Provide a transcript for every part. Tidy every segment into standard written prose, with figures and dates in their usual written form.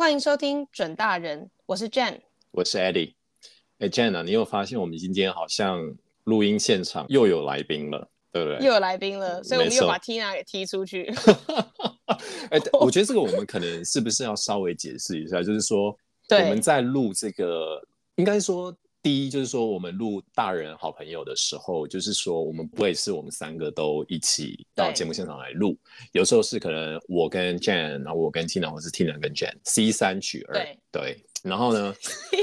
歡迎收聽準大人，我是 Jen， 我是 Eddie。Jen 啊，你有發現我們今天好像錄音現場又有來賓了，對不對？ 又有來賓了，所以我們又把 Tina 給踢出去。 我覺得这個我們可能是不是要稍微解釋一下，就是說我們在錄這個，應該說第一就是說我們錄大人好朋友的時候，就是說我們不會是我們三個都一起到節目現場來錄，有時候是可能我跟 Jen， 然後我跟 Tina， 或是 Tina 跟 Jen，C3 取2，对。然後呢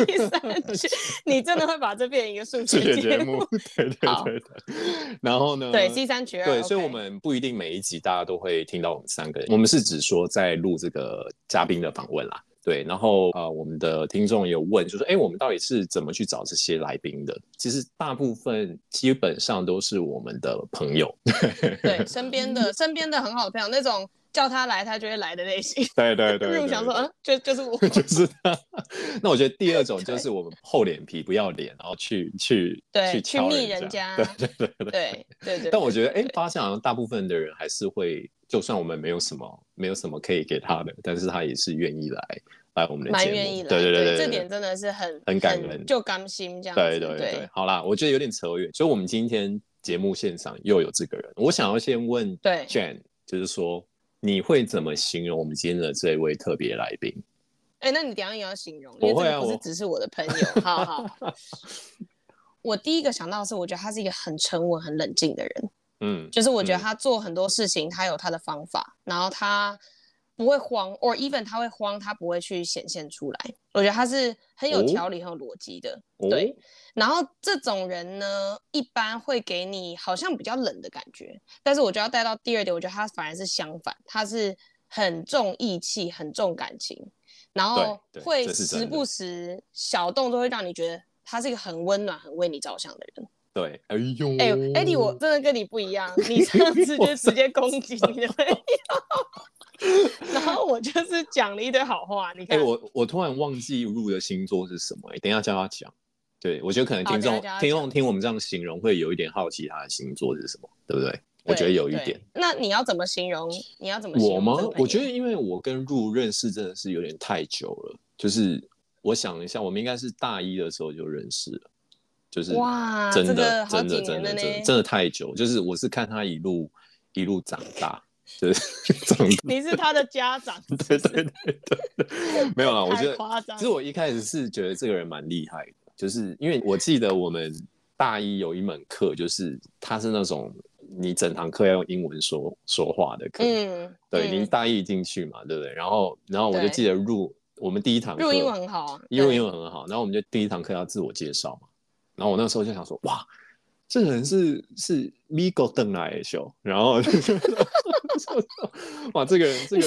？C3取，你真的會把這变成一個數學節目？ 對。然後呢？ 對 ，C3 取2。 對，所以我們不一定每一集大家都會聽到我們三個人，我們是指說在錄這個嘉賓的訪問啦。對，然後我們的聽眾也有問，就說我們到底是怎麼去找這些來賓的？其實大部分基本上都是我們的朋友， 对，身邊的很好的朋友，那種叫他來他就會來的類型。 对。 如果想說，就是我， 就是他。那我覺得第二種就是我們厚臉皮不要臉，然後去密人家。对。 但我觉得發現好像大部分的人還是會，就算我們沒有什麼可以給他的，但是他也是願意來我們的節目，蠻願意來。對， 這點真的是很感人， 就甘心這樣子。 對。好啦，我覺得有點扯遠，所以我們今天節目現場又有這個人，我想要先問 Jen， 就是說你會怎麼形容我們今天的這位特別來賓？ 那你等一下也要形容，因為這個不是只是我的朋友。好。我第一個想到的是，我覺得他是一個很沉穩、很冷靜的人。就是我覺得他做很多事情，他有他的方法，然後他不會慌 ，or even 他會慌，他不會去顯現出來。我覺得他是很有條理、很有邏輯的。對。然後這種人呢，一般會給你好像比較冷的感覺，但是我就要帶到第二點，我覺得他反而是相反，他是很重義氣、很重感情，然後會時不時小動作會讓你覺得他是一個很溫暖、很為你着想的人。 對， Eddie， 我真的跟你不一樣，你上次就直接攻擊你的朋友，然後我就是講了一堆好話。你看， 我突然忘記入的星座是什麼，等一下叫他講。對，我覺得可能聽眾聽我們這樣形容，會有一點好奇他的星座是什麼，對不對？我覺得有一點。 那你要怎麼形容？ 我嗎？我覺得因為我跟入認識真的是有點太久了，就是我想一下，我們應該是大一的時候就認識了，就是哇， 真的、 这個、好幾年了呢， 真的太久，就是我是看他一路長大。就是你是他的家長。 对，没有啦，我觉得其实我一開始是覺得這個人蠻厲害的，就是因為我記得我們大一有一門課，就是他是那種你整堂課要用英文說話的課。對，你大一進去嘛，對不對？然後我就記得我們第一堂課英文很好啊， 英文很好，然後我們就第一堂課要自我介紹嘛，然後我那時候就想說，哇，這個人是美國回來的秀，然後哇，這個人就是，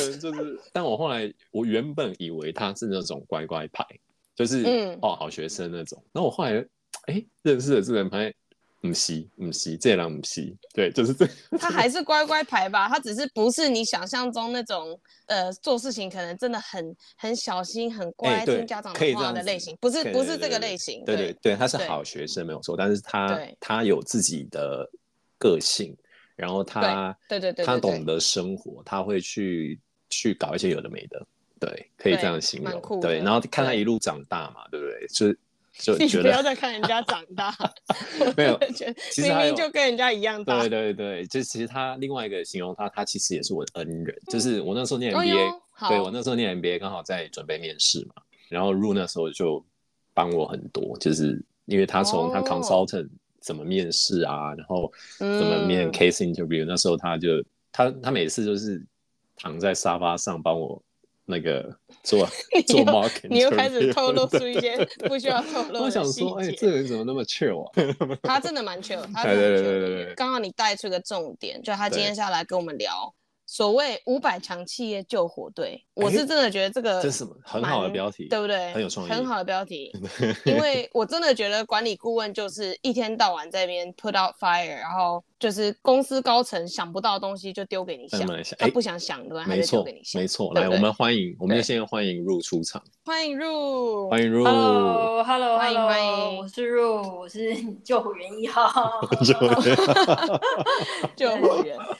但我後來我原本以為他是那種乖乖牌，就是好學生那種，然後我後來認識了這個人，發現不是，這人不是，對，就是這， 他還是乖乖牌吧，他只是不是你想象中那種做事情可能真的很小心、很乖、聽家長的話的類型，不是這個類型。 对，他是好學生沒有錯，但是他有自己的個性，然後他懂得生活，他會去搞一些有的沒的，对，可以這樣形容，對，然後看他一路長大嘛，對不對？就你不要再看人家長大， 沒有， 其實明明就跟人家一樣大。 對，就其實他另外一個形容他其實也是我的恩人，就是我那時候念 MBA，對，我那時候念 MBA 剛好在準備面試嘛，然後入那時候就幫我很多，就是因為他從他 consultant 怎麼面試啊，然後怎麼面 case interview，那時候他每次就是躺在沙發上幫我那個做 marketing， 你又開始透露出一些不需要透露的細節。 我想說，這個人怎麼那麼 chill 啊？ 他真的蠻 chill， 他真的蠻 chill 的。剛好你帶出個重點，就他今天下來跟我們聊所謂500強企業救火隊，我是真的覺得這個這是什麼很好的標題， 對不對？ 很有創意， 很好的標題。因為我真的覺得管理顧問就是一天到晚在那邊 put out fire， 然後就是公司高層想不到的東西就丟給你想，他不想想對吧？他就丟給你想。 沒錯，來，我們就先歡迎入出場。 歡迎入 ，Hello， 歡迎， 我是入，我是救火員1號， 救火員。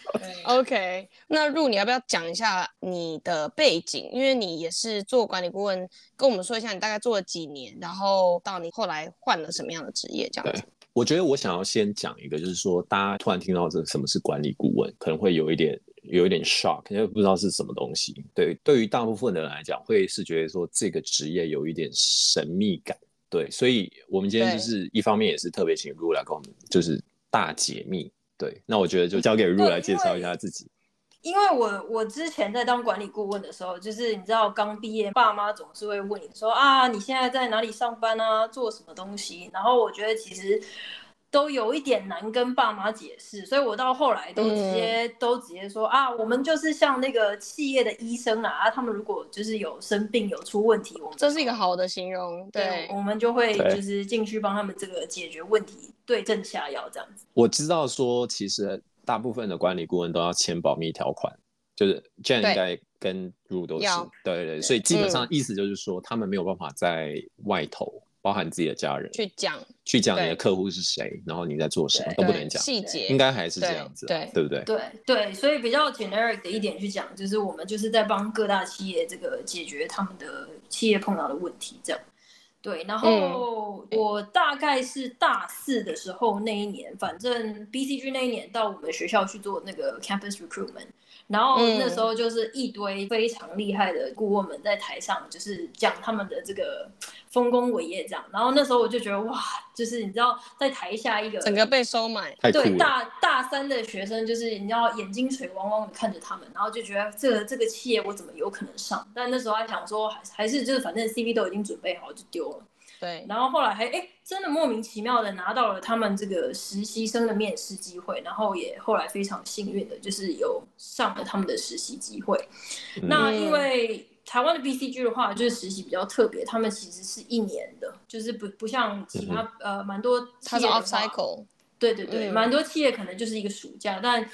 OK， 那Ru你要不要講一下你的背景？因為你也是做管理顧問，跟我們說一下你大概做了幾年，然後到你後來換了什麼樣的職業這樣子。 我覺得我想要先講一個，就是說大家突然聽到這什麼是管理顧問，可能會有一點 shock， 因為不知道是什麼東西。對於大部分的人來講，會是覺得說這個職業有一點神秘感。對，所以我們今天就是一方面也是特別請 Ru 來跟我們就是大解密。對，那我覺得就交給 Ru 來介紹一下自己。 因為我之前在當管理顧問的時候，就是你知道剛畢業，爸媽總是會問你說啊，你現在在哪裡上班啊，做什麼東西？然後我覺得其實都有一點難跟爸媽解釋，所以我到後來都直接說啊，我們就是像那個企業的醫生啊，他們如果就是有生病有出問題，我们這是一個好的形容， 對，我們就會就是進去幫他們這個解決問題，對症下藥這樣子。 我知道說其實大部分的管理顧問都要簽保密條款，就是 Jen 應該跟 Ru 都是，对，所以基本上意思就是說，他們沒有辦法在外頭，包含自己的家人去講你的客戶是誰，然後你在做什麼都不能講細節， 應該還是這樣子，對不对？ 对，所以比較 generic 的一點去講，就是我們就是在幫各大企業這個解決他們的企業碰到的問題，這樣。對，然後我大概是大4的時候那一年，反正 BCG 那一年到我們學校去做那個 campus recruitment， 然後那時候就是一堆非常厲害的顧問們在台上，就是講他們的這個豐功偉業這樣。然後那時候我就覺得哇，就是你知道在台下一個整個被收買， 對，大3的學生就是你知道眼睛水汪汪的看着他們，然後就覺得這個企業我怎麼有可能上？但那時候還想說還是就是反正 CV 都已經準備好就丟了。 对， 然後後來還真的莫名其妙的拿到了他們這個實習生的面試機會，然後也後來非常幸運的就是有上了他們的實習機會。那因為台灣的 BCG 的話，就是實習比較特別，他們其實是1年的，就是不像其他蠻多企業的話，它是 off cycle。對，蠻多企業可能就是一個暑假，但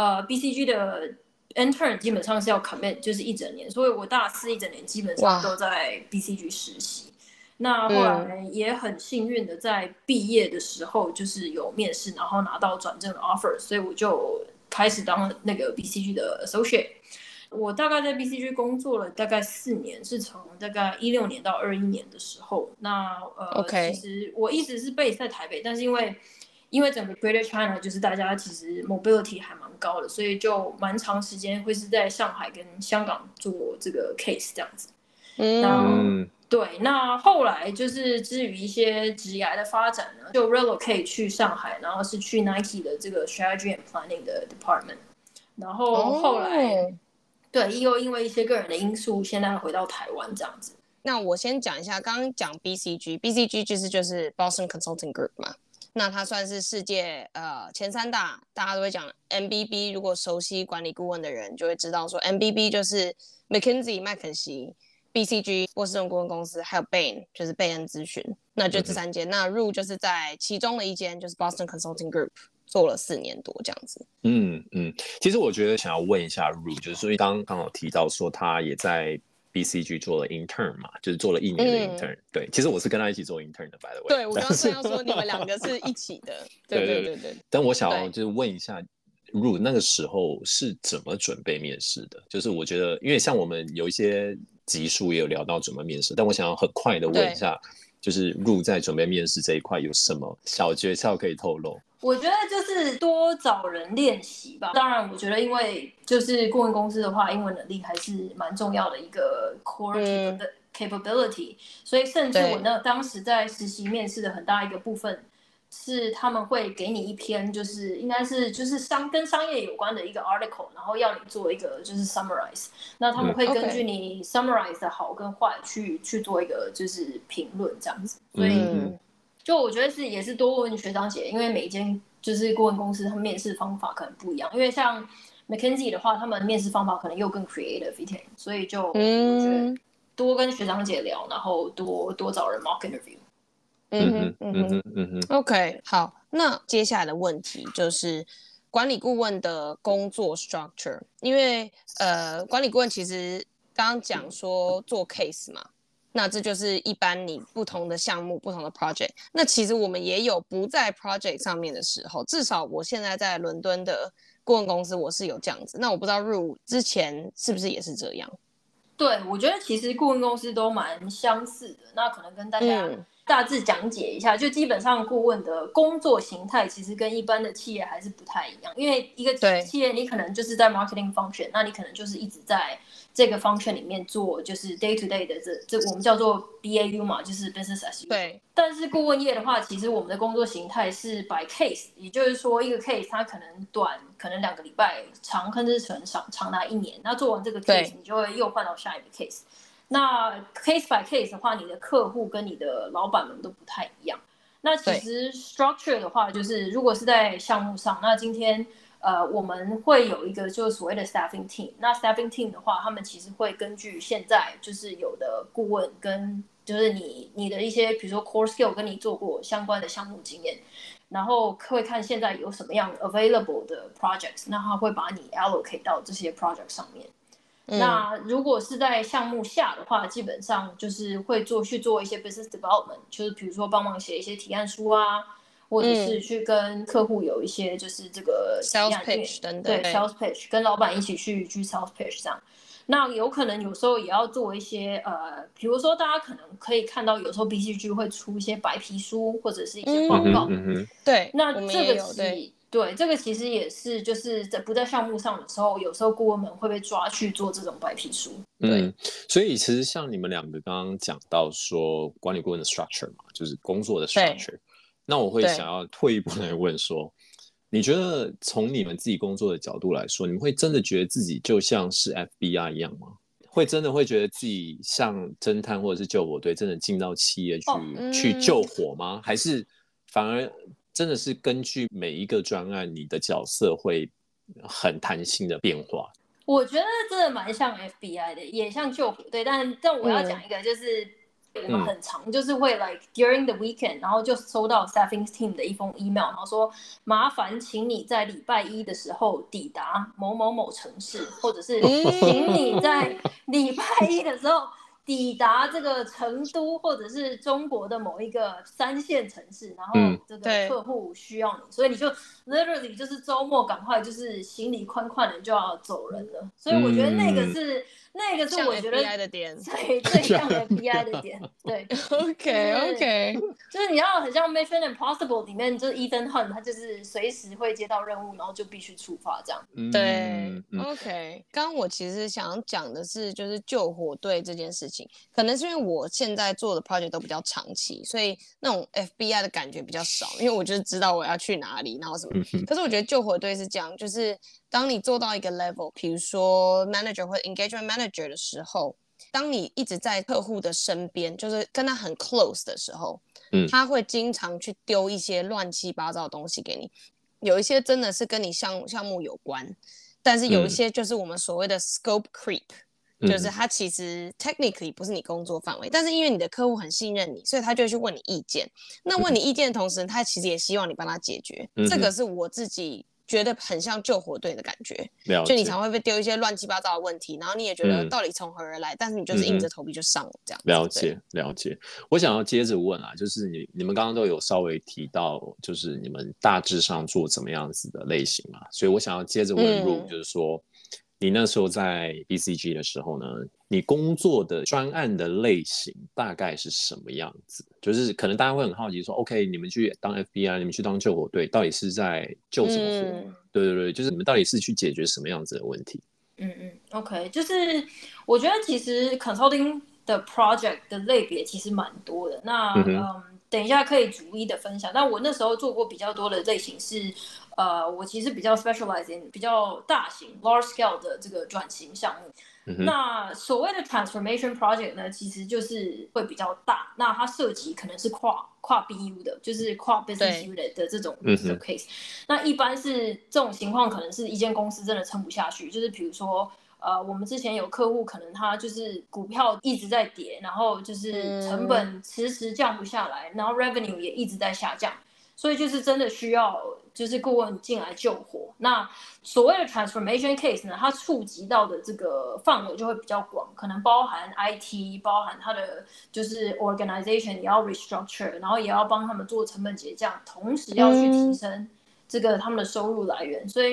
BCG 的 intern 基本上是要 commit 就是1整年，所以我大4一整年基本上都在 BCG 實習。那後來也很幸運的在畢業的時候就是有面試，然後拿到轉正的 offer， 所以我就開始當那個 BCG 的 associate。我大概在 BCG 工作了大概4年，是從大概16年到21年的時候。那其實我一直是 base 在台北，但是因為整個 Greater China 就是大家其實 mobility 還蠻高的，所以就蠻長時間會是在上海跟香港做這個 case 這樣子。對，那後來就是至於一些職涯的發展呢，就 relocate 去上海，然後是去 Nike 的這個 strategy and planning 的 department， 然後後來對又因為一些個人的因素，現在回到台灣這樣子。 那我先講一下，剛剛講 BCG 就是 Boston Consulting Group 嘛，那它算是世界前3大，大家都會講 MBB， 如果熟悉管理顧問的人就會知道說 MBB 就是 McKinsey 麥肯錫。BCG 波士頓顧問公司，還有 Bain 就是貝恩諮詢，那就這3間。那 Ru 就是在其中的一間，就是 Boston Consulting Group 做了4年多這樣子。 其實我覺得想要問一下 Ru， 就是所以剛有提到說他也在 BCG 做了 intern 嘛，就是做了1年的 intern。對，其實我是跟他一起做 intern 的 ，by the way。 對，我剛剛要說你們2個是一起的。對。 但我想要就是問一下。Ru 那個時候是怎麼準備面試的？就是我覺得，因為像我們有一些集數也有聊到準備面試，但我想要很快的問一下，就是 Ru 在準備面試這一塊有什麼小訣竅可以透露？ 我覺得就是多找人練習吧。當然，我覺得因為就是顧問公司的話，英文能力還是蠻重要的一個 core capability，所以甚至我當時在實習面試的很大一個部分。是他們會給你一篇，就是應該是就是跟商業有關的一個 article， 然後要你做一個就是 summarize， 那他們會根據你 summarize 的好跟壞去做一個就是評論這樣子，所以就我覺得也是多問學長姐，因為每一間就是顧問公司他們面試方法可能不一樣，因為像 McKinsey 的話，他們面試方法可能又更 creative 一點，所以就我覺得多跟學長姐聊，然後多找人 mock interview。 OK， 好，那接下來的問題就是管理顧問的工作 structure， 因為管理顧問其實剛剛講說做 case 嘛，那這就是一般你不同的項目、不同的 project。那其實我們也有不在 project 上面的時候，至少我現在在倫敦的顧問公司我是有這樣子，那我不知道 Ru 之前是不是也是這樣？ 對，我覺得其實顧問公司都蠻相似的，那可能跟大家大致講解一下，就基本上顧問的工作形態其實跟一般的企業還是不太一樣，因為一個企業你可能就是在 marketing function， 那你可能就是一直在這個 function 裡面做就是 day to day 的這我們叫做 BAU 嘛，就是 business as usual。對。但是顧問業的話，其實我們的工作形態是 by case， 也就是說一個 case 它可能短，可能2個禮拜，長甚至長達1年。那做完這個 case， 你就會又換到下一個 case。那 case by case 的話，你的客戶跟你的老闆們都不太一樣。那其實 structure 的話，就是如果是在項目上，那今天我們會有一個就是所謂的 staffing team。那 staffing team 的話，他們其實會根據現在就是有的顧問跟就是你的一些比如說 core skill 跟你做過相關的項目經驗，然後會看現在有什麼樣 available 的 projects， 那他會把你 allocate 到這些 project 上面。那如果是在項目下的話，基本上就是會去做一些 business development， 就是比如說幫忙寫一些提案書啊，或者是去跟客戶有一些就是這個 sales pitch 等等， 对 sales pitch， 跟老闆一起去 sales pitch 這樣。那有可能有時候也要做一些比如說大家可能可以看到有時候 BCG 會出一些白皮書或者是一些報告， 对， 那這個對，這個其實也是就是在不在項目上的時候，有時候顧問們會被抓去做這種白皮書。對， 所以其實像你們兩個剛剛講到說管理顧問的 structure 嘛，就是工作的 structure， 那我會想要退一步來問說，你覺得從你們自己工作的角度來說，你們會真的覺得自己就像是 FBI 一樣嗎？會真的會覺得自己像偵探或者是救火隊，真的進到企業去救火嗎？還是反而真的是根據每一個專案，你的角色會很彈性的变化？ 我覺得真的蠻像 FBI 的，也像救火隊，但我要講一個就是。我們很常就是會 like during the weekend， 然後就收到 staffing team 的一封 email， 然後說麻煩請你在禮拜一的時候抵達某某某城市，或者是請你在禮拜一的時候抵達這個成都或者是中國的某一個3線城市，然后這個客戶需要你，所以你就 literally 就是周末趕快就是行李寬寬的就要走人了。所以我覺得那個是我覺得最像 FBI 的點。對，OK， 就是你要很像 Mission Impossible 裡面，就是 Ethan Hunt， 他就是隨時會接到任務，然後就必須出發這樣。 對，OK。剛剛我其實想講的是，就是救火隊這件事情，可能是因為我現在做的 project 都比較長期，所以那種 FBI 的感覺比較少，因為我就是知道我要去哪裡，然後什麼。可是我覺得救火队是這樣，就是當你做到一個 level， 比如說 manager 或者 engagement manager 的時候，當你一直在客戶的身邊，就是跟他很 close 的时候，他會經常去丟一些亂七八糟的東西給你，有一些真的是跟你項目有關，但是有一些就是我們所謂的 scope creep，就是他其實 technically 不是你工作範圍，但是因為你的客戶很信任你，所以他就會去問你意見。那問你意見的同時，他其實也希望你幫他解決。這個是我自己覺得很像救火隊的感覺，就你常會被丟一些亂七八糟的問題，然後你也覺得到底從何而來，但是你就是硬着頭皮就上了這樣。 了解。我想要接着問啊，就是你們剛剛都有稍微提到，就是你們大致上做怎麼樣子的類型嘛，所以我想要接着問Ru，就是說你那時候在 BCG 的時候呢，你工作的專案的類型大概是什麼樣子？就是可能大家会很好奇說 OK， 你們去当 FBI， 你們去当救火队，到底是在救什麼火？对，就是你們到底是去解決什麼樣子的問题 ？OK， 就是我覺得其實 consulting 的 project 的類別其實蠻多的。那等一下可以逐一的分享。但我那時候做過比較多的類型是，我其實比較 specialize in 比較大型 large scale 的這個轉型項目。那所謂的 transformation project 呢，其實就是會比較大，那它涉及可能是跨 BU 的，就是跨 business unit 的這種 case。那一般是這種情況，可能是一間公司真的撐不下去，就是比如說我們之前有客戶，可能他就是股票一直在跌，然後就是成本遲遲降不下來，然後 revenue 也一直在下降，所以就是真的需要就是顧問進來救火。那所謂的 transformation case 呢，它觸及到的這個範圍就會比較廣，可能包含 IT， 包含它的就是 organization 也要 restructure， 然後也要幫他們做成本結降，同時要去提升這個他們的收入來源。所以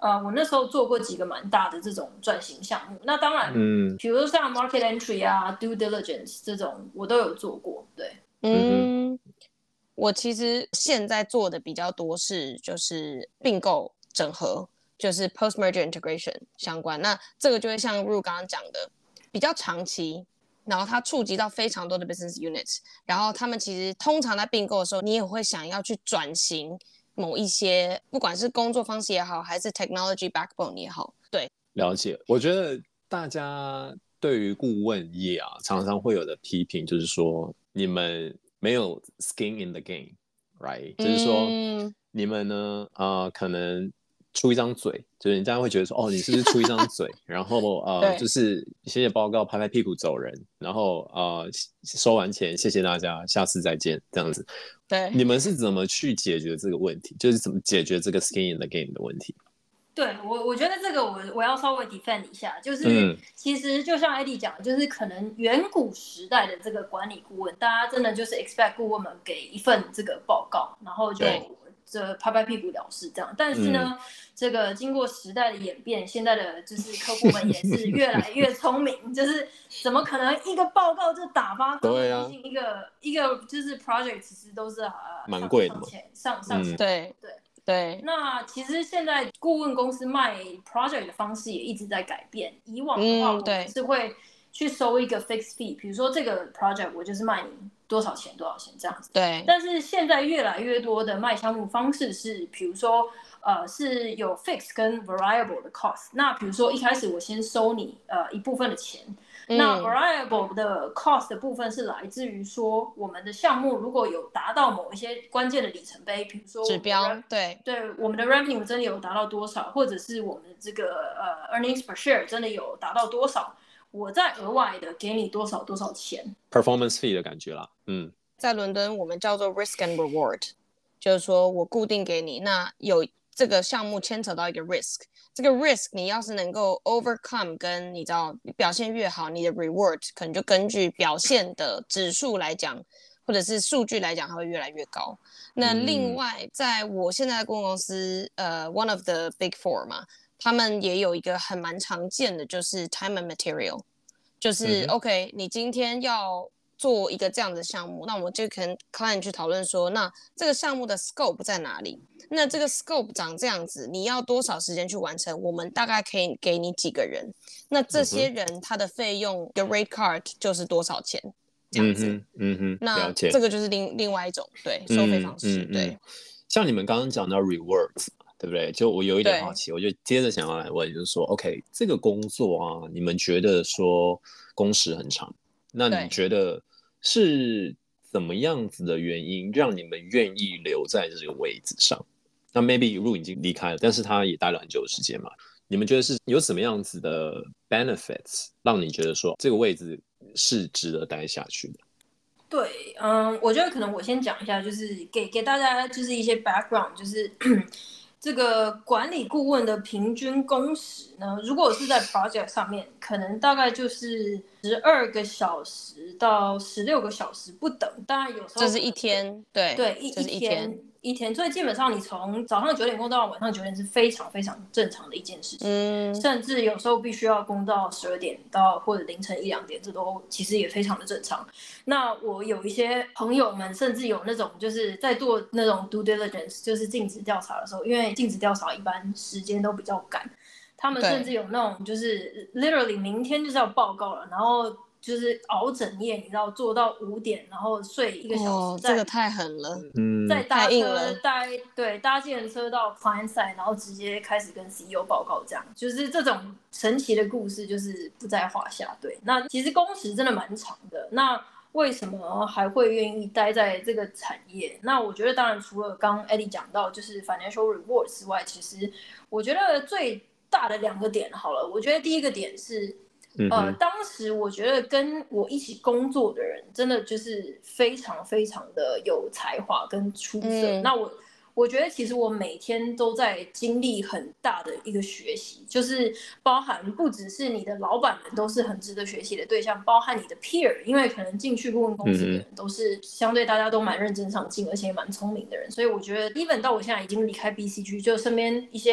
我那時候做過幾個蠻大的這種轉型項目。那當然，比如說像 market entry 啊、due diligence 這種，我都有做過。對， 我其實現在做的比較多是就是併購整合，就是 post merger integration 相關。那這個就會像 Ru 剛剛講的，比較長期，然後它觸及到非常多的 business units， 然後他們其實通常在併購的時候，你也會想要去轉型某一些，不管是工作方式也好，還是 technology backbone 也好。对， 了解。我覺得大家對於顧問業啊，常常會有的批評就是說，你們沒有 skin in the game， right？就是說，你們呢，可能出一張嘴，就是人家會覺得說，哦，你是不是出一張嘴，然後就是寫寫報告，拍拍屁股走人，然後收完錢，謝謝大家，下次再見，這樣子。 對， 你們是怎麼去解決這個問題？就是怎麼解決這個 skin in the game 的問題？ 對，我覺得這個我要稍微 defend 一下，就是其實就像 Eddie 講的，就是可能遠古時代的這個管理顧問，大家真的就是 expect 顧問們給一份這個報告，然後就這拍拍屁股了事這樣。但是呢，這個經過時代的演變，現在的就是客戶們也是越來越聰明，就是怎麼可能一個報告就打發？對啊，畢竟一個就是 project 其實都是蠻貴的嘛， 上對，那其實現在顧問公司賣 project 的方式也一直在改变。以往的話，我們是會去收一個 fixed fee，比如說這個 project 我就是賣你多少錢這樣子。 對。但是現在越來越多的賣項目方式是，比如說是有 fixed 跟 variable 的 cost。那比如說一開始我先收你一部分的錢。那 variable 的 cost 的部分是來自於說，我們的項目如果有達到某一些關鍵的里程碑，比如說指標，對， 我們的 revenue 真的有達到多少，或者是我們的這個earnings per share 真的有達到多少，我再額外的給你多少錢 ，performance fee 的感覺啦。 在倫敦我們叫做 risk and reward， 就是說我固定給你，那有這個項目牽扯到一個 risk。這個 risk 你要是能夠 overcome， 跟你知道表現越好，你的 reward 可能就根據表現的指數來講，或者是數據來講，它會越來越高。那另外，在我現在的顧問公司one of the big four 嘛，他們也有一個蠻常見的，就是 time and material， 就是OK， 你今天要做一個這樣的項目，那我就跟 client 去討論說，那這個項目的 scope 在哪裡？那這個 scope 長這樣子，你要多少時間去完成？我們大概可以給你幾個人？那這些人他的費用的 rate card 就是多少錢？這樣子，那這個就是另外一種對收費方式。對， 像你們剛剛講到 rewards， 對不對？就我有一點好奇，我就接着想要來問，就是說 ，OK， 這個工作啊，你們覺得說工時很長，那你覺得是怎麼樣子的原因讓你們願意留在這個位置上？那 maybe Ru 已經離開了，但是他也待了很久的時間嘛。你們覺得是有什麼樣子的 benefits 讓你覺得說這個位置是值得待下去的？ 對，我覺得可能我先講一下，就是給大家就是一些 background， 就是這個管理顧問的平均工時呢，如果是在 project 上面，可能大概就是12個小時到16個小時不等。當然有时候這是一天，對， 一天，所以基本上你從早上9點工到晚上9點是非常非常正常的一件事情，甚至有時候必須要工到12點到或者凌晨1、2點，這都其實也非常的正常。那我有一些朋友們甚至有那種就是在做那種 due diligence， 就是盡職調查的時候，因為盡職調查一般時間都比較趕，他們甚至有那種就是 literally 明天就是要報告了，然後就是熬整夜，你知道做到5點，然後睡1個小時。 這個太狠了， 再搭車搭計程車到 client side， 然後直接開始跟 CEO 報告，這樣就是這種神奇的故事就是不在話下。對，那其實工時真的蠻長的。那為什麼還會願意待在這個產業？那我覺得當然除了剛剛 Eddie 講到就是 financial rewards 之外，其實我覺得最大的2個點好了。我覺得第一個點是當時我覺得跟我一起工作的人真的就是非常非常的有才華跟出色。那我覺得其實我每天都在經歷很大的一個學習，就是包含不只是你的老闆們都是很值得學習的對象，包含你的 peer， 因為可能進去顧問公司的人都是相對大家都蠻認真上進，而且也蠻聰明的人。所以我覺得 even 到我現在已經離開 BCG， 就身邊一些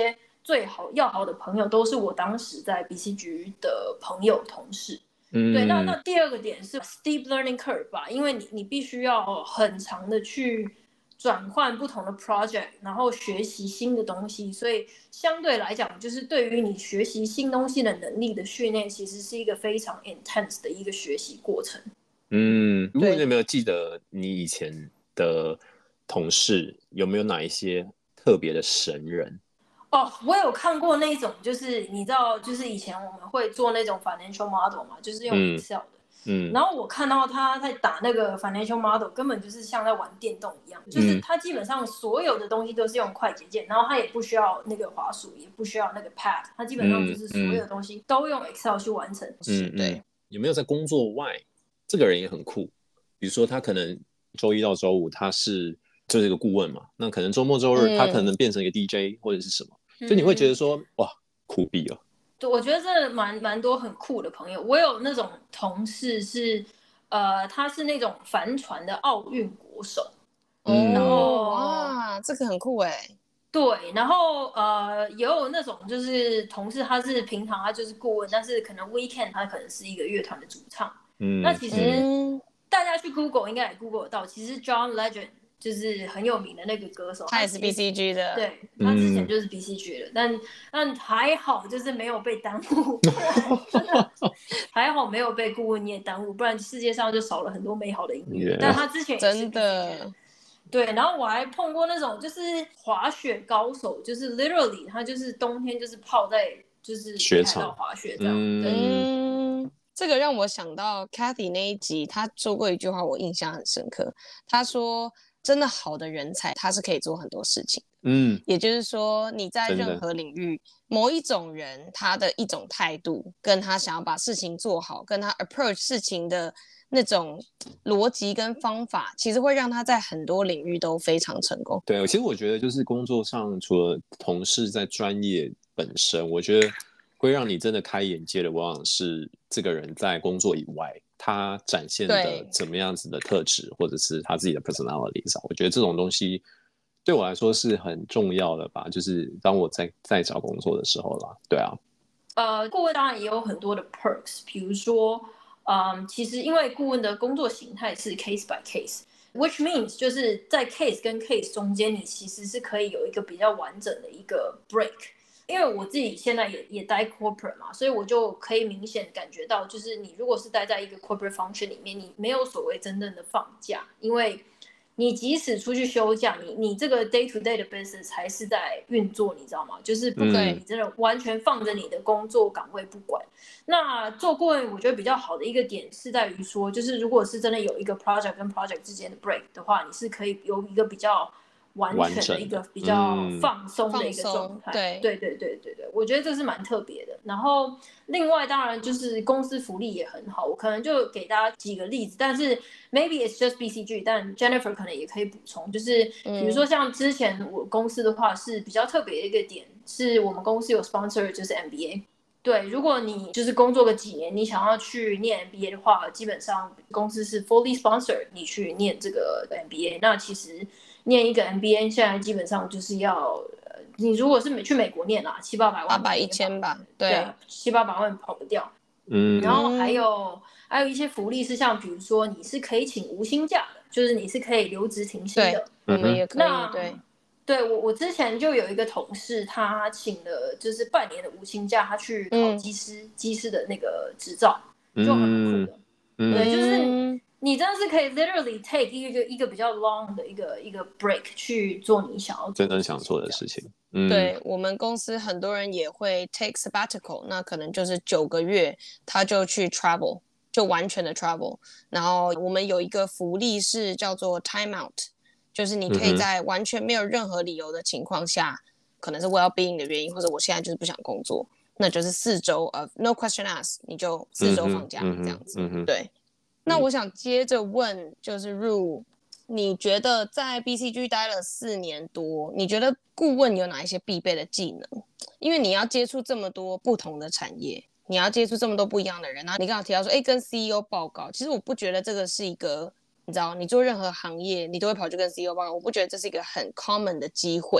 最要好的朋友都是我當時在 BCG 的朋友同事。对，那第二個點是 steep learning curve 吧，因为你必須要很長的去轉換不同的 project， 然後學習新的東西，所以相對來講，就是對於你學習新東西的能力的訓練，其實是一個非常 intense 的一個學習過程。 如果你有沒有記得你以前的同事有沒有哪一些特別的神人？ 我有看過那種，就是你知道，就是以前我們會做那種 financial model 嘛，就是用 Excel 的。然後我看到他在打那個 financial model， 根本就是像在玩電動一樣，就是他基本上所有的東西都是用快捷鍵，然後他也不需要那個滑鼠，也不需要那個 pad， 他基本上就是所有的東西都用 Excel 去完成。 對。有沒有在工作外，這個人也很酷？比如說他可能周一到周五他就是一個顧問嘛，那可能周末周日他可能變成一個 DJ 或者是什麼，就你會覺得說哇，酷斃了。 對，我覺得這蠻多很酷的朋友。我有那種同事是，他是那種帆船的奧運國手，然後哇，這個很酷哎。 對，然後也有那種就是同事，他是平常他就是顧問，但是可能 weekend 他可能是一個樂團的主唱。那其實大家去 Google 應該也 Google 得到，其實 John Legend 就是很有名的那個歌手， 他也是 BCG 的， 對，他之前就是 BCG 的，但還好就是沒有被耽誤，不然真的還好沒有被顧問業耽誤，不然世界上就少了很多美好的音樂。但他之前也是 BCG 的，真的。對，然後我還碰過那種就是滑雪高手，就是 literally 他就是冬天就是泡在就是雪場滑雪這樣。 這個讓我想到 Cathy 那一集，他說過一句話，我印象很深刻。他說，真的好的人才，他是可以做很多事情。也就是說，你在任何領域，某一種人，他的一種態度，跟他想要把事情做好，跟他 approach 事情的那種邏輯跟方法，其實會讓他在很多領域都非常成功。 對，其實我覺得就是工作上，除了同事在專業本身，我覺得會讓你真的開眼界的，往往是這個人在工作以外，他展現的怎麼樣子的特質，或者是他自己的 personality 上，我覺得這種東西對我來說是很重要的吧。就是當我在找工作的時候啦，對啊。 顧問當然也有很多的 perks， 比如說，其實因為顧問的工作形態是 case by case。Which means 就是在 case 跟 case 中間，你其實是可以有一個比較完整的一個 break。因為我自己現在也待 corporate 嘛，所以我就可以明顯感覺到，就是你如果是待在一個 corporate function 裡面，你沒有所謂真正的放假，因為你即使出去休假，你這個 day to day 的 business 還是在運作，你知道嗎？就是不可以你真的完全放着你的工作崗位不管。那做顧問，我覺得比較好的一個點是在於說，就是如果是真的有一個 project 跟 project 之間的 break 的話，你是可以有一個比較完全的一個比較放鬆的一個狀態。對，我覺得這是蠻特別的。然後另外當然就是公司福利也很好，我可能就給大家幾個例子，但是 maybe it's just BCG， 但 Jennifer 可能也可以補充，就是比如說像之前我公司的話是比較特別的一個點，是我們公司有 sponsor 就是 MBA。對，如果你就是工作個幾年，你想要去念 MBA 的話，基本上公司是 fully sponsor 你去念這個 MBA。那其實念一個 MBA 現在基本上就是要，你如果是去美國念啦，700-800萬 ，800、1000吧，對 ，700-800萬跑不掉。然後還有一些福利是像比如說你是可以請無薪假的，就是你是可以留職停薪的， 我們也可以。 對，我之前就有一個同事，他請了就是半年的無薪假，他去考技師的那個執照，就很酷的。對，就是你真的是可以 literally take 一個比較 long 的一個 break 去做你想要真正想做的事情。 对，我們公司很多人也會 take sabbatical， 那可能就是9個月，他就去 travel， 就完全的 travel。然後我們有一個福利是叫做 time out。就是你可以在完全沒有任何理由的情況下，可能是 well-being 的原因，或者我現在就是不想工作，那就是4周 of no question asked， 你就4周放假，這樣子。對。那我想接着問，就是 Ru， 你覺得在 BCG 待了4年多，你覺得顧問有哪一些必備的技能？因為你要接觸這麼多不同的產業，你要接觸這麼多不一樣的人，然後你剛剛提到說，跟 CEO 報告，其實我不覺得這個是一個。你知道，你做任何行業，你都會跑去跟 CEO 報告。我不覺得這是一個很 common 的機會。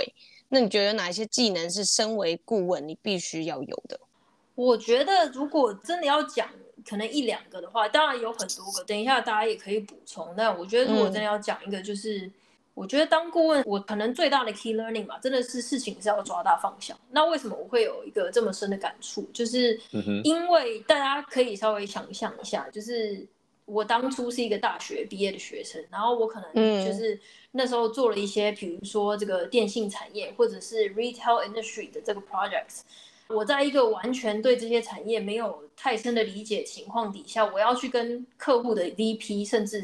那你覺得有哪一些技能是身為顧問你必須要有的？ 我覺得如果真的要講可能1-2個的話，當然有很多個，等一下大家也可以補充。那我覺得如果真的要講一個，就是我覺得當顧問，我可能最大的 key learning 嘛，真的是事情是要抓大方向。那為什麼我會有一個這麼深的感觸？就是因為大家可以稍微想象一下，就是我當初是一個大學畢業的學生，然後我可能就是那時候做了一些，比如說這個電信產業或者是 retail industry 的這個 projects。我在一個完全對這些產業沒有太深的理解情況底下，我要去跟客戶的 VP 甚至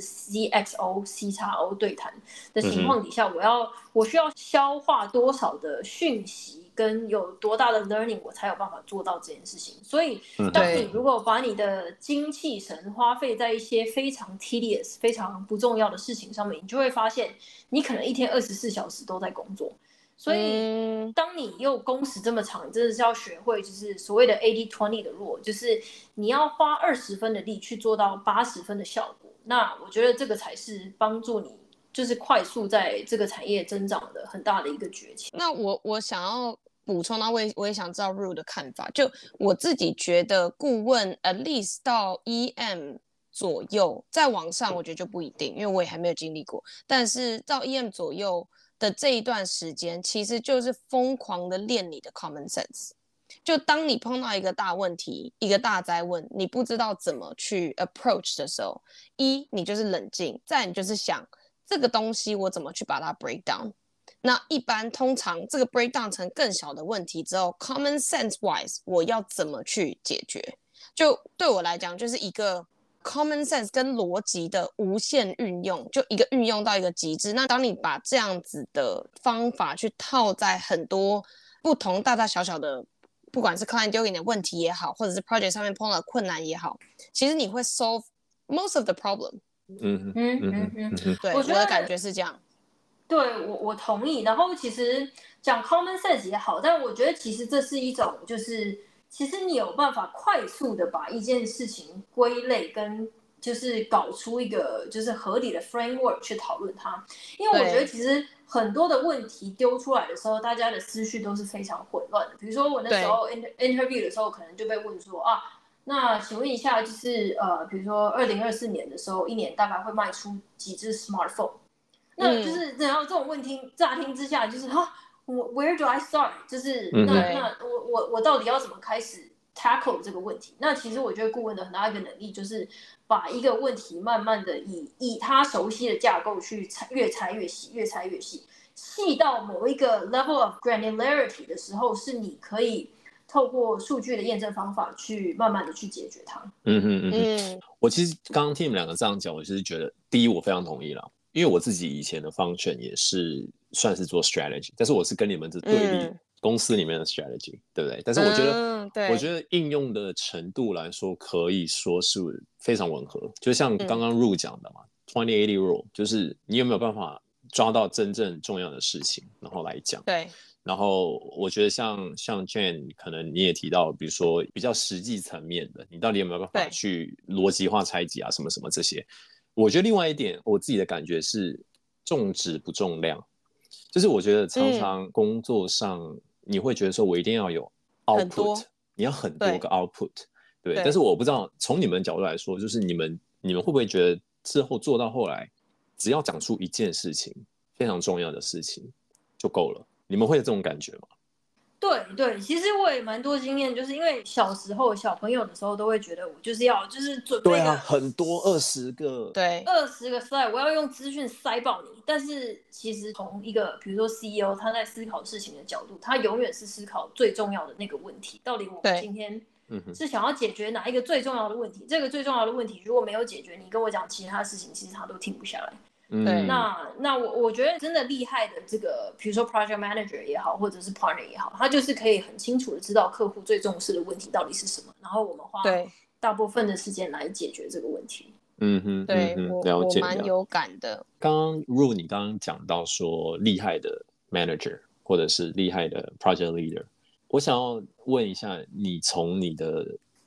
CXO、CXO 對談的情況底下，我需要消化多少的訊息，跟有多大的 learning， 我才有辦法做到這件事情。所以，當你如果把你的精氣神花費在一些非常 tedious、非常不重要的事情上面，你就會發現，你可能一天24小時都在工作。所以，當你又工時這麼長，你真的是要學會，就是所謂的 80-20 的 rule， 就是你要花20分的力去做到80分的效果。那我覺得這個才是幫助你，就是快速在這個產業增長的很大的一個訣竅。 那我想要補充到，我也想知道 Ru 的看法。就我自己覺得，顧問 at least 到 EM 左右，在往上我覺得就不一定，因為我也還沒有經歷過。但是到 EM 左右的這一段時間，其實就是瘋狂的練你的 common sense。就當你碰到一個大問題、一個大哉問，你不知道怎麼去 approach 的時候，你就是冷靜，再你就是想這個東西我怎麼去把它 break down。那一般通常這個 break down 成更小的問題之後 ，common sense wise 我要怎麼去解決？就對我來講，就是一個common sense 跟邏輯的無限運用，就一個運用到一個極致。那當你把這樣子的方法去套在很多不同大大小小的，不管是 client 丟給你的問題也好，或者是 project 上面碰到的困難也好，其實你會 solve most of the problem。对，我的感覺是這樣。 對，我同意。然後其實講 common sense 也好，但我覺得其實這是一種就是其實你有辦法快速的把一件事情歸類，跟就是搞出一個就是合理的 framework 去討論它。因為我覺得其實很多的問題丟出來的時候，大家的思緒都是非常混亂的。比如說我那時候 interview 的時候，可能就被問說啊，那請問一下，就是比如說2024年的時候，一年大概會賣出幾支 smartphone？那就是然後這種問題乍聽之下就是where do I start？ 就是那我到底要怎麼開始 tackle 這個問題？那其實我覺得顧問的很大一個能力就是把一個問題慢慢的以他熟悉的架構去越拆越細，越拆越細，細到某一個 level of granularity 的時候，是你可以透過數據的驗證方法去慢慢的去解決它。 我其實剛剛聽你們兩個這樣講，我就是覺得第一我非常同意啦。因為我自己以前的 function 也是算是做 strategy， 但是我是跟你們是对立公司裡面的 strategy，对不对？但是我覺得應用的程度來說，可以說是非常吻合。就像剛剛 Ru 講的嘛，20-80 rule， 就是你有沒有辦法抓到真正重要的事情，然後來講。 對。 然後我覺得像 Jen， 可能你也提到，比如說比較實際層面的，你到底有沒有办法去邏輯化拆解啊，什麼什麼這些。我覺得另外一點，我自己的感覺是重質不重量，就是我覺得常常工作上你會覺得說我一定要有 output， 你要很多個 output， 對。但是我不知道從你們的角度來說，就是你們會不會覺得之後做到後來，只要講出一件事情非常重要的事情就夠了？你們會有這種感覺嗎？ 對，其實我也蠻多經驗，就是因為小時候小朋友的时候都會覺得我就是要就是準備很多20個 20個 slide， 我要用資訊塞爆你。但是其實從一個比如說 CEO 他在思考事情的角度，他永遠是思考最重要的那個問題，到底我們今天是想要解決哪一個最重要的問題？這個最重要的問題如果沒有解決，你跟我講其他事情，其實他都停不下來。那我覺得真的厲害的這個，比如說 project manager 也好，或者是 partner 也好，他就是可以很清楚的知道客戶最重視的問題到底是什麼，然後我們花大部分的時間來解決這個問題。 對，我蠻有感的。 剛剛 Ru 你剛剛講到說厲害的 manager 或者是厲害的 project leader， 我想要問一下，你從你的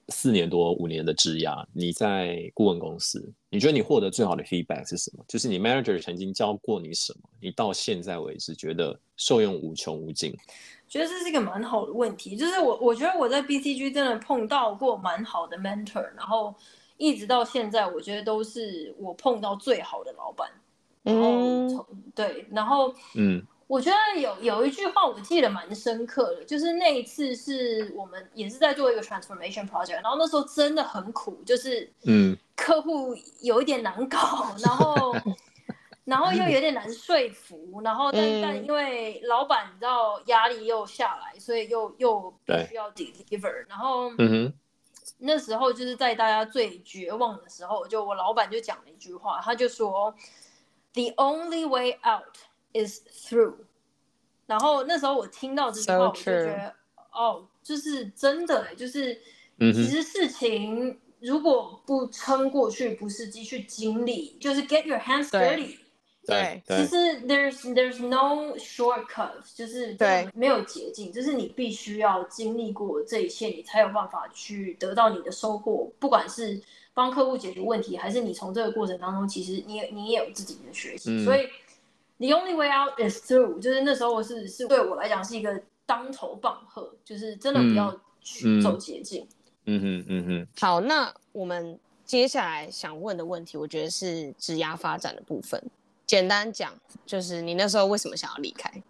4年多5年的職涯，你在顧問公司，你覺得你獲得最好的 feedback 是什麼？就是你 manager 曾經教過你什麼，你到現在為止覺得受用無窮無盡？ 覺得這是一個蠻好的問題，就是我覺得我在 BCG 真的碰到過蠻好的 mentor， 然後一直到現在，我覺得都是我碰到最好的老闆。然後对，然後我覺得有一句話我記得蠻深刻的，就是那一次是我們也是在做一個 transformation project， 然後那时候真的很苦，就是客戶有一點難搞，然後又有點難說服，然後但因為老闆你知道壓力又下來，所以又必須要 deliver， 然後那時候就是在大家最絕望的時候，就我老闆就講了一句話，他就說 The only way out is through。然後那時候我聽到這句話，我就覺得就是真的，就是其實事情如果不撐過去，不是繼續經歷，就是 get your hands dirty。 對， 其實 there's no shortcut， 就是沒有捷徑，就是你必須要經歷過這一切，你才有辦法去得到你的收穫。不管是幫客戶解決問題，還是你從這個過程當中，其實你也有自己的學習。所以 the only way out is through， 就是那時候是对我來講是一個當頭棒喝，就是真的不要去走捷徑。 好，那我們接下來想問的問題，我覺得是職涯發展的部分。簡單講，就是你那時候為什麼想要離開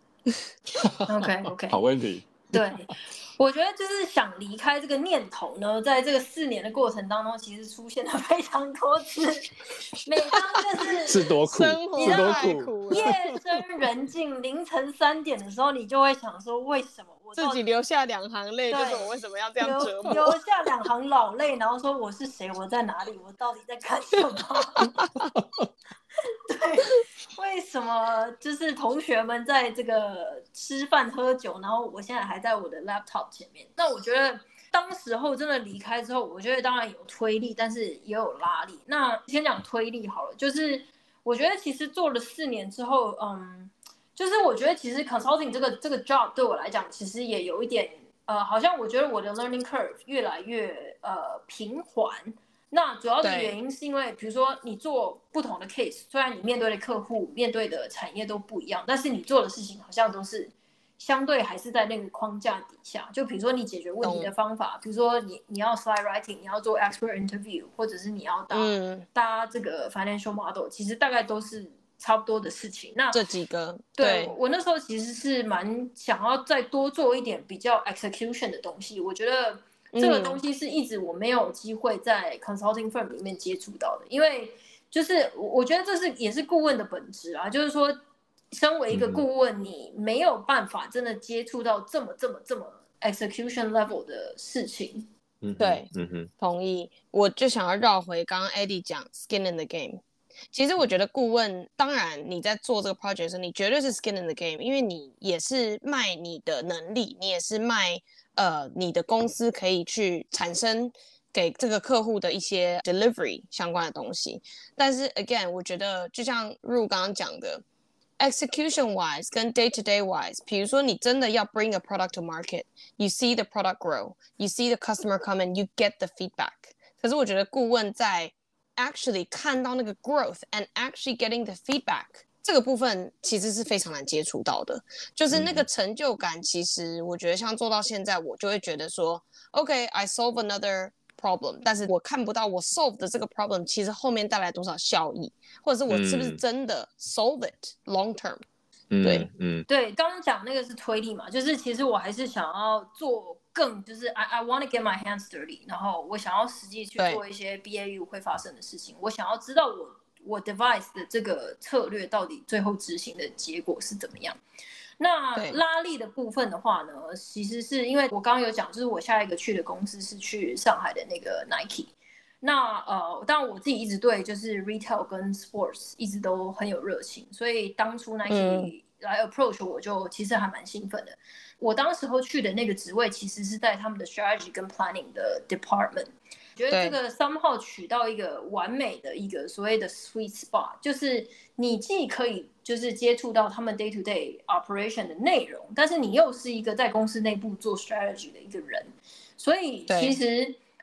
？OK， 好問題。 對，我覺得就是想離開這個念頭呢，在這個4年的過程當中，其實出現了非常多次。每當就是多苦， 是多苦， 夜深人靜、凌晨3點的時候，你就會想說，為什麼我自己流下2行淚，就是我為什麼要這樣折磨？ 流下2行老淚，然後說我是誰，我在哪裡，我到底在幹什麼？對，為什麼就是同學們在這個吃飯喝酒，然後我現在還在我的 laptop 前面？那我覺得當時候真的離開之後，我覺得當然有推力，但是也有拉力。那先講推力好了，就是我覺得其實做了4年之後，就是我覺得其實 consulting 這個 job 對我來講，其實也有一點好像我覺得我的 learning curve 越來越平緩。那主要的原因是因為，比如說你做不同的 case， 雖然你面對的客戶、面對的產業都不一樣，但是你做的事情好像都是相對還是在那個框架底下。就比如說你解決問題的方法，比如說你要 slide writing， 你要做 expert interview， 或者是你要搭這個 financial model， 其實大概都是差不多的事情。那這幾個， 對，我那時候其實是蠻想要再多做一點比較 execution 的東西。我覺得這個東西是一直我沒有機會在 consulting firm 裡面接觸到的，因為就是我覺得這也是顧問的本質啊，就是說身為一個顧問，你沒有辦法真的接觸到這麼 execution level 的事情。 對，同意。我就想要繞回剛剛 Eddie 講 skin in the game。其實我覺得顧問，當然你在做這個 project 的時候，你絕對是 skin in the game， 因為你也是賣你的能力，你也是賣你的公司可以去產生給這個客戶的一些 delivery 相關的東西。但是 again， 我覺得就像 Ru 剛剛講的 ，execution wise 跟 day to day wise， 比如說你真的要 bring a product to market，you see the product grow，you see the customer come and you get the feedback。可是我覺得顧問在 actually 看到那個 growth and actually getting the feedback， 這個部分其實是非常難接觸到的，就是那個成就感，其實我覺得像做到現在，我就會覺得說 OK，I solve another problem， 但是我看不到我 solve 的這個 problem 其實後面帶來多少效益，或者是我是不是真的 solve it long term。对， 对，刚剛講那個是推力嘛，就是其實我還是想要做更，就是 I want to get my hands dirty， 然後我想要實際去做一些 BAU 會發生的事情，我想要知道我 device 的這個策略到底最後執行的結果是怎麼樣。那拉力的部分的話呢，其實是因為我剛剛有講，就是我下一個去的公司是去上海的那個 Nike。那當然我自己一直對就是 retail 跟 sports 一直都很有熱情，所以當初 Nike 來 approach 我就其實還蠻興奮的。我當時候去的那個職位其實是在他們的 strategy 跟 planning 的 department。覺得這個somehow取到一個完美的一個所謂的 sweet spot， 就是你既可以就是接觸到他們 day to day operation 的內容，但是你又是一個在公司內部做 strategy 的一個人，所以其實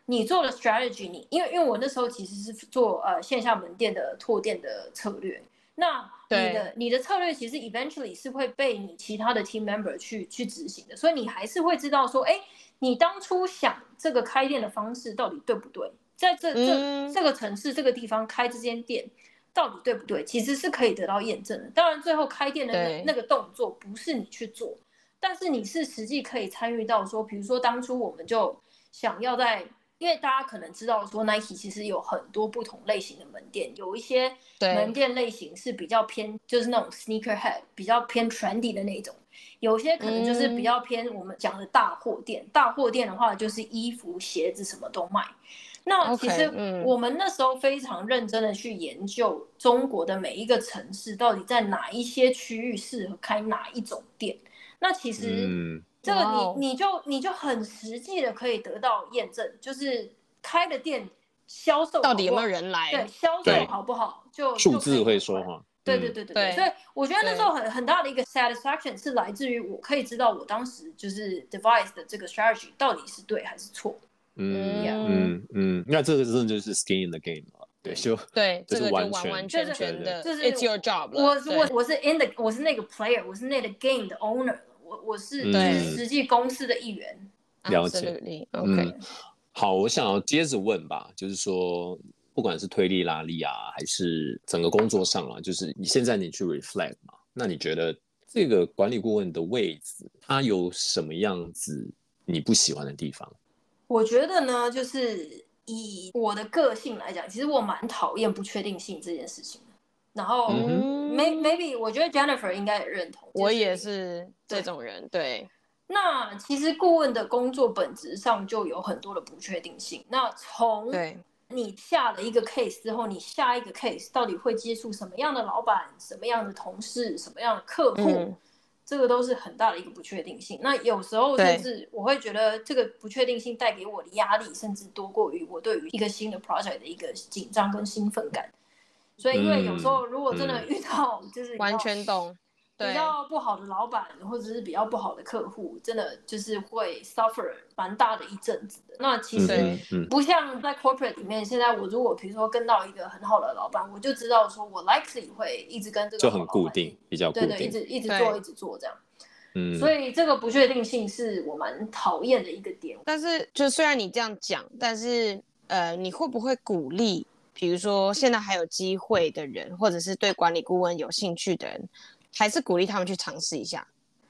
你做了 strategy， 因為我那時候其實是做線下門店的拓店的策略，那你的策略其實 eventually 是會被你其他的 team member 去執行的，所以你還是會知道說，哎，你當初想這個開店的方式到底對不對，在這個城市這個地方開這間店到底對不對，其實是可以得到驗證的。當然最後開店的那個動作不是你去做，但是你是實際可以參與到說，比如說當初我們就想要因為大家可能知道說 Nike 其實有很多不同類型的門店，有一些門店類型是比較偏就是那種 sneakerhead 比較偏 trendy 的那種，有些可能就是比較偏我們講的大貨店，大貨店的话就是衣服鞋子什麼都賣。那其實我們那時候非常認真的去研究中國的每一個城市到底在哪一些區域適合開哪一種店，那其實這個你就很實際的可以得到驗證，就是開的店銷售好不好，到底有沒有人來， 對，銷售好不好，就數字會說話。 对，所以我觉得那时候很大的一个 satisfaction 是来自于我可以知道我当时就是 devise 的这個 strategy 到底是對還是錯。 那這個真的就是 skin in the game 了，對， 這個就完全的，就是 it's your job 了。 我是那個 player， 我是那個 game 的 owner， 我是實際公司的一員。 了解 ，OK。好，我想要接着問吧，就是說，不管是推力拉力啊，還是整個工作上啊，就是現在你去 reflect 嘛，那你覺得這個管理顧問的位置，它有什麼樣子你不喜歡的地方？ 我覺得呢，就是以我的個性來講，其實我蠻討厭不確定性這件事情的。然後maybe 我覺得 Jennifer 應該也認同， 我也是這種人，對。 那其實顧問的工作本質上就有很多的不確定性。那從你下了一個 case 之後，你下一個 case 到底會接觸什麼樣的老闆、什麼樣的同事、什麼樣的客戶，這個都是很大的一個不確定性。那有時候甚至我會覺得這個不確定性帶給我的壓力，甚至多過於我對於一個新的 project 的一個緊張跟興奮感。所以因為有時候如果真的遇到就是完全懂。 比較不好的老闆或者是比較不好的客戶，真的就是會 suffer 蠻大的一陣子的。那其實不像在 corporate 裡面，現在我如果比如說跟到一個很好的老闆，我就知道說我 likely 會一直跟這個就很固定，比較固定， 對，一直做這樣。所以這個不確定性是我蠻討厭的一個點。 但是就雖然你這樣講，但是你會不會鼓勵，比如說現在還有機會的人，或者是對管理顧問有興趣的人，還是鼓勵他們去嘗試一下。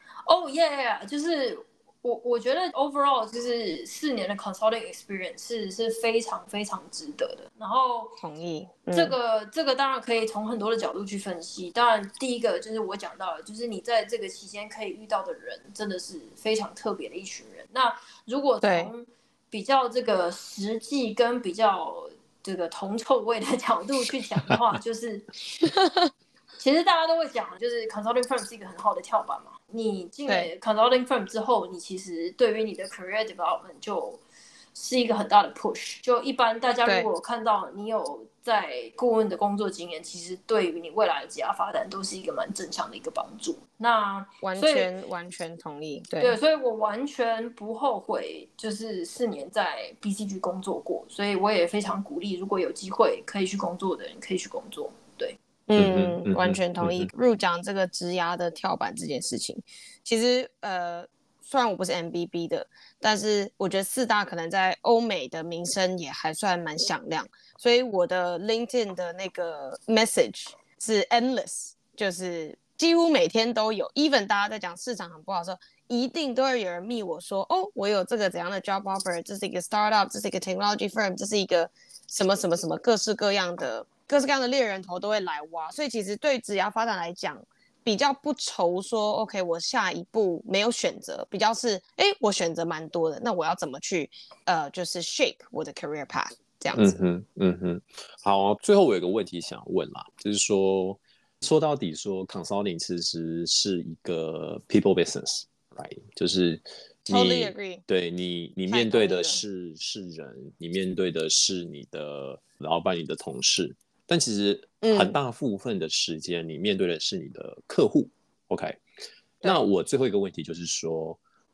yeah， 就是我覺得 overall 就是4年的 consulting experience 是非常非常值得的。然後同意， 這個當然可以從很多的角度去分析。當然第一個就是我講到的，就是你在這個期間可以遇到的人真的是非常特別的一群人。那如果從比較這個實際跟比較這個銅臭味的角度去講的話，就是其實大家都會講，就是 consulting firm 是一個很好的跳板嘛。你進了 consulting firm 之後，你其實對於你的 career development 就是一個很大的 push。就一般大家如果看到你有在顧問的工作經驗，其實對於你未來的職業發展都是一個蠻正向的一個幫助。那完全同意。 對，所以我完全不後悔，就是4年在 BCG 工作過，所以我也非常鼓勵，如果有機會可以去工作的人，可以去工作。對。 完全同意。入講這個職涯的跳板這件事情，其實雖然我不是 MBB 的，但是我覺得4大可能在歐美的名聲也還算蠻響亮，所以我的 LinkedIn 的那個 message 是 endless， 就是幾乎每天都有。even 大家在講市場很不好的時候，一定都會有人密我說，哦，我有這個怎樣的 job offer， 這是一個 startup， 這是一個 technology firm， 這是一個什麼什麼什麼，各式各樣的獵人頭都會來挖。所以其實對職涯發展來講，比較不愁說 OK 我下一步沒有選擇，比較是我選擇蠻多的，那我要怎麼去就是 shape 我的 career path 這樣子。 好，最後我有個問題想問啦，就是說到底說 consulting 其實是一個 people business， right？ 就是 Totally agree。 對你面對的是人，你面對的是你的老闆、你的同事，但其實很大部分的時間，你面對的是你的客戶。OK， 那我最後一個問題就是說，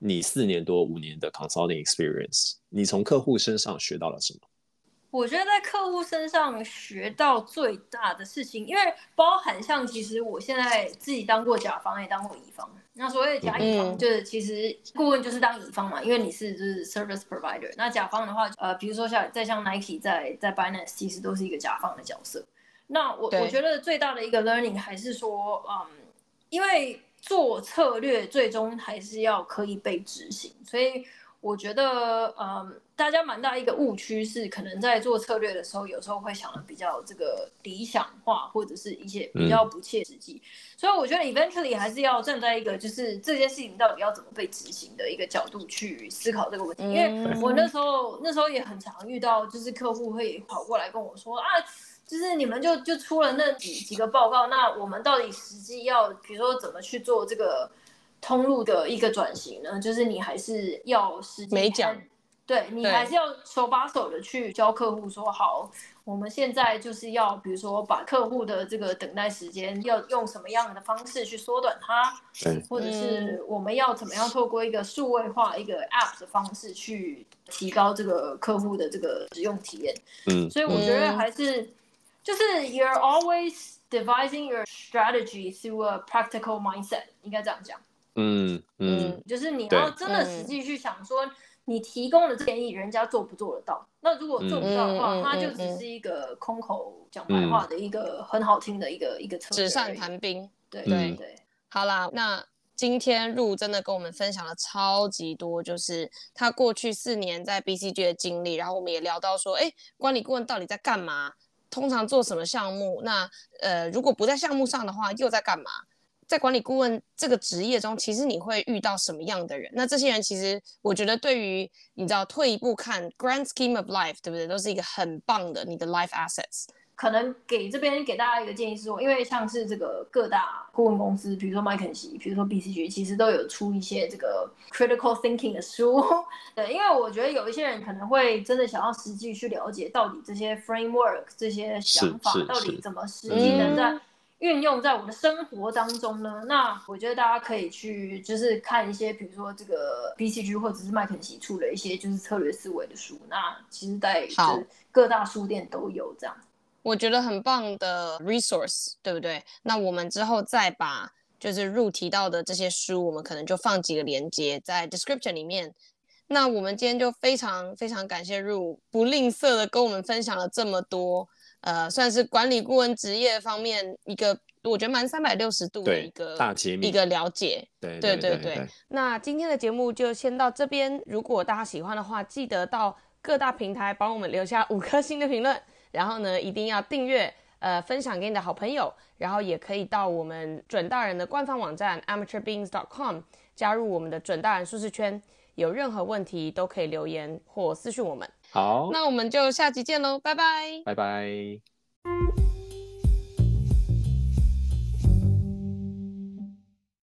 你4年多5年的 consulting experience， 你從客戶身上學到了什麼？ 我覺得在客戶身上學到最大的事情，因為包含像其實我現在自己當過甲方也當過乙方。那所謂的甲乙方就是其實顧問就是當乙方嘛，因為你是就是 service provider。那甲方的話，比如說像 Nike 在 Binance 其實都是一個甲方的角色。那我覺得最大的一個 learning 還是說，因為做策略最終還是要可以被執行，所以我覺得大家蠻大一個誤區是，可能在做策略的時候，有時候會想的比較這個理想化，或者是一些比較不切實際。所以我覺得 eventually 還是要站在一個就是這件事情到底要怎麼被執行的一個角度去思考這個問題。因為我那時候也很常遇到，就是客戶會跑過來跟我說啊，就是你們就出了那幾個報告，那我們到底實際要比如說怎麼去做這個通路的一個轉型呢？就是你還是要實際沒講。對，你還是要手把手的去教客戶說，好，我們現在就是要比如說把客戶的這個等待時間要用什麼樣的方式去縮短它，或者是我們要怎麼樣透過一個數位化一個 app 的方式去提高這個客戶的這個使用體驗。所以我覺得還是就是 you're always devising your strategy through a practical mindset， 應該這樣講。就是你要真的實際去想說，你提供的建議，人家做不做得到？那如果做不到的話，它就只是一個空口講白話的一個很好聽的一個策略，紙上談兵。對。 好啦，那今天Ru真的跟我們分享了超級多，就是他過去4年在 BCG 的經歷，然後我們也聊到說，管理顧問到底在幹嘛？通常做什麼項目？那如果不在項目上的話，又在幹嘛？在管理顧問這個職業中，其實你會遇到什麼樣的人？那這些人其實我覺得對於你知道退一步看 grand scheme of life， 對不对？都是一個很棒的你的 life assets。 可能給大家一個建議是說，因為像是這個各大顧問公司，比如說麥肯錫，比如說 BCG， 其實都有出一些這個 critical thinking 的書。對，因為我覺得有一些人可能會真的想要實際去了解到底這些 framework 這些想法到底怎麼實際能在運用在我的生活當中呢？那我覺得大家可以去就是看一些，比如說這個 BCG 或者是麥肯錫出了一些就是策略思維的書。那其實在各大書店都有這樣。 我覺得很棒的 resource， 對不對？那我們之後再把就是Ru提到的這些書，我們可能就放幾個連結在 description 裡面。那我們今天就非常非常感謝Ru不吝啬的跟我們分享了這麼多。算是管理顧問職業方面一個我覺得蠻360度的一個大揭秘，一個了解。對。那今天的節目就先到這邊，如果大家喜歡的話，記得到各大平台幫我們留下5顆星的評論，然後呢一定要訂閱分享給你的好朋友，然後也可以到我們準大人的官方網站 amateurbeings.com 加入我們的準大人舒適圈，有任何問題都可以留言或私訊我們。 好， 那我們就下集見嘍，拜拜， 拜拜。